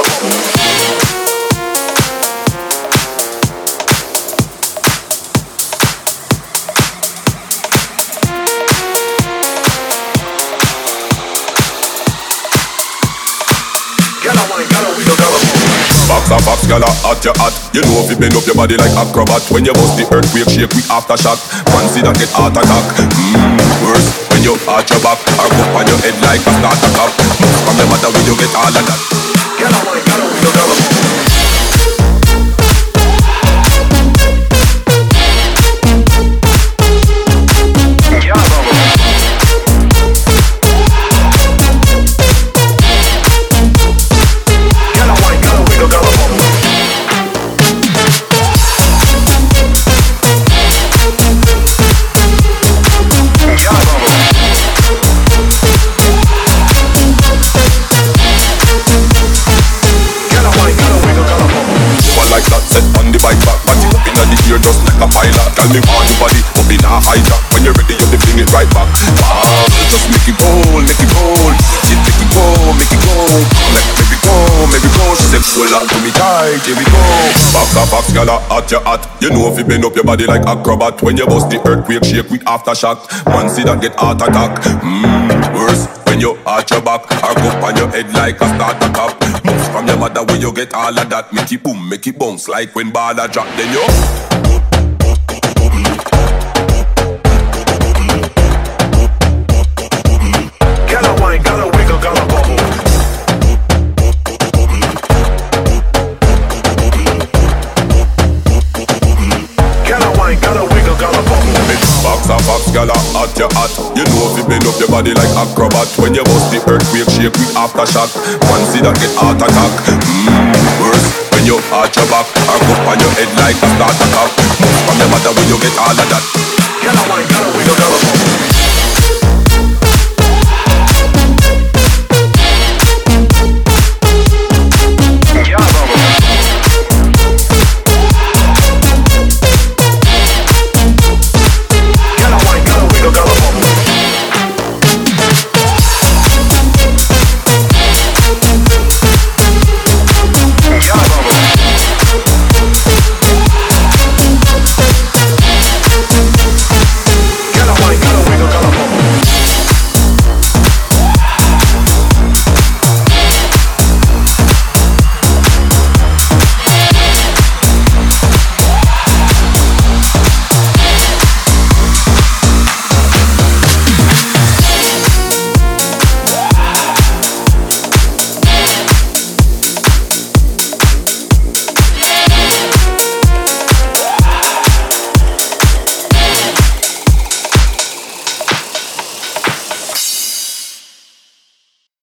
Box, gyal hot your hot. You know if you bend up your body like acrobat. When you bust the earthquake, shake quick aftershock. Fancy that get heart attack. Worse when you arch your back or go on your head like a starter cap. From the matter when you get all of that. Gyal I want, gyal we don't know. Tell me on your body, up in a hijack. When you're ready, you fling it right back. Wow, just make it roll, make it roll. She make it go, make it go. Like maybe go, maybe go. She said, pull on to me tight, here we go. Box, gyal hot your hot. You know if you bend up your body like acrobat. When you bust the earthquake, shake with aftershock. Man see that get heart attack. Worse when you arch your back or go on your head like a starter cap. Moves from your mother where you get all of that. Make it boom, make it bounce like when baller drop. Then you box, gyal hot your hot. You know if you bend up your body like acrobat. When you bust the earthquake, shake with aftershock. Fancy that get heart attack. Worse when you arch your back or go on your head like a starter cap. From your mother when you get all of that. Gyal I want, gyal we don't know.